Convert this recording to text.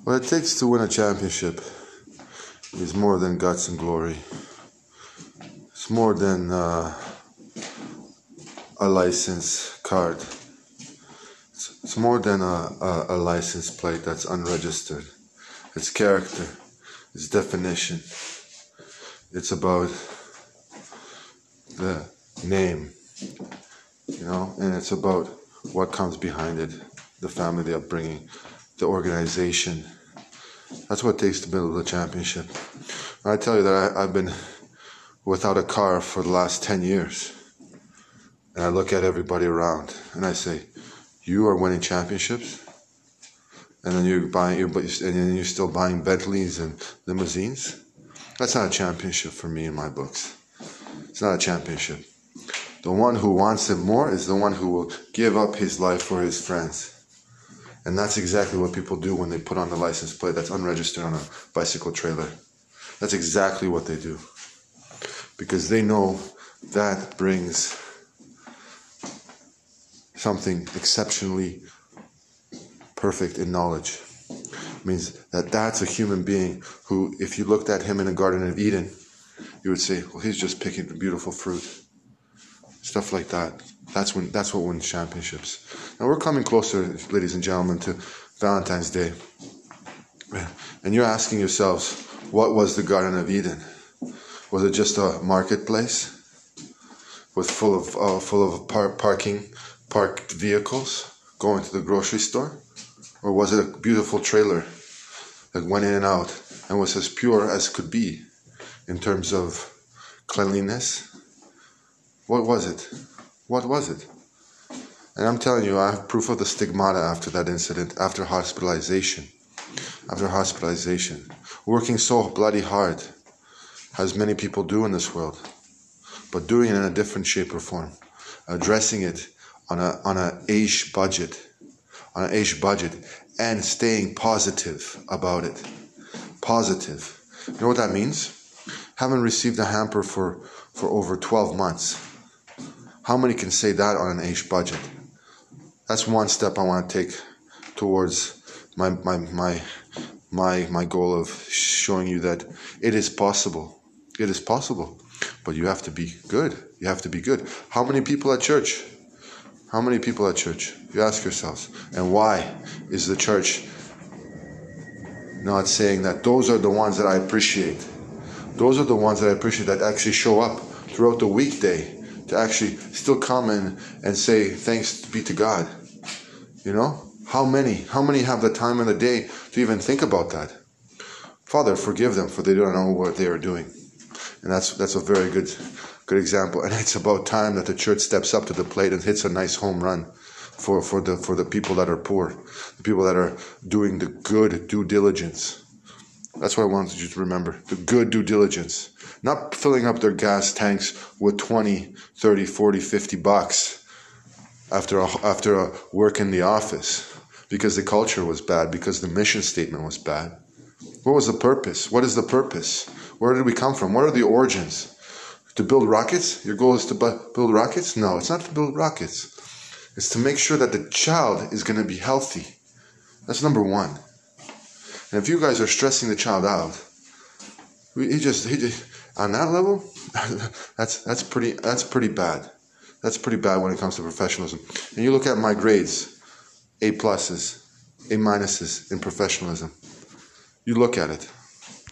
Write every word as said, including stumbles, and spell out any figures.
What it takes to win a championship is more than guts and glory. It's more than uh, a license card. It's, it's more than a, a, a license plate that's unregistered. It's character. It's definition. It's about the name, you know, and it's about what comes behind it, the family, the upbringing, the organization. That's what it takes to build a championship. And I tell you that I, I've been without a car for the last ten years. And I look at everybody around and I say, you are winning championships? And then you're buying, you're, and then you're still buying Bentleys and limousines? That's not a championship for me in my books. It's not a championship. The one who wants it more is the one who will give up his life for his friends. And that's exactly what people do when they put on the license plate that's unregistered on a bicycle trailer. That's exactly what they do. Because they know that brings something exceptionally perfect in knowledge. It means that that's a human being who, if you looked at him in the Garden of Eden, you would say, well, he's just picking beautiful fruit. Stuff like that. That's when. That's what wins championships. Now we're coming closer, ladies and gentlemen, to Valentine's Day. And you're asking yourselves, what was the Garden of Eden? Was it just a marketplace with full of uh, full of par- parking, parked vehicles going to the grocery store? Or was it a beautiful trailer that went in and out and was as pure as could be in terms of cleanliness? What was it? What was it? And I'm telling you, I have proof of the stigmata after that incident, after hospitalization. After hospitalization. Working so bloody hard, as many people do in this world, but doing it in a different shape or form. Addressing it on a on a age budget. On an age budget. And staying positive about it. Positive. You know what that means? Haven't received a hamper for, for over twelve months. How many can say that on an age budget? That's one step I want to take towards my my my my my goal of showing you that it is possible. It is possible. But you have to be good. You have to be good. How many people at church? How many people at church? You ask yourselves. And why is the church not saying that those are the ones that I appreciate? Those are the ones that I appreciate that actually show up throughout the weekday to actually still come in and say, thanks be to God. You know? How many? How many have the time in the day to even think about that? Father, forgive them, for they don't know what they are doing. And that's that's a very good good example. And it's about time that the church steps up to the plate and hits a nice home run for, for the for the people that are poor, the people that are doing the good due diligence. That's what I wanted you to remember. The good due diligence. Not filling up their gas tanks with twenty, thirty, forty, fifty bucks after a, after a work in the office because the culture was bad, because the mission statement was bad. What was the purpose? What is the purpose? Where did we come from? What are the origins? To build rockets? Your goal is to build rockets? No, it's not to build rockets. It's to make sure that the child is going to be healthy. That's number one. And if you guys are stressing the child out, he just, he just on that level, that's that's pretty that's pretty bad. That's pretty bad when it comes to professionalism. And you look at my grades, A pluses, A minuses in professionalism. You look at it.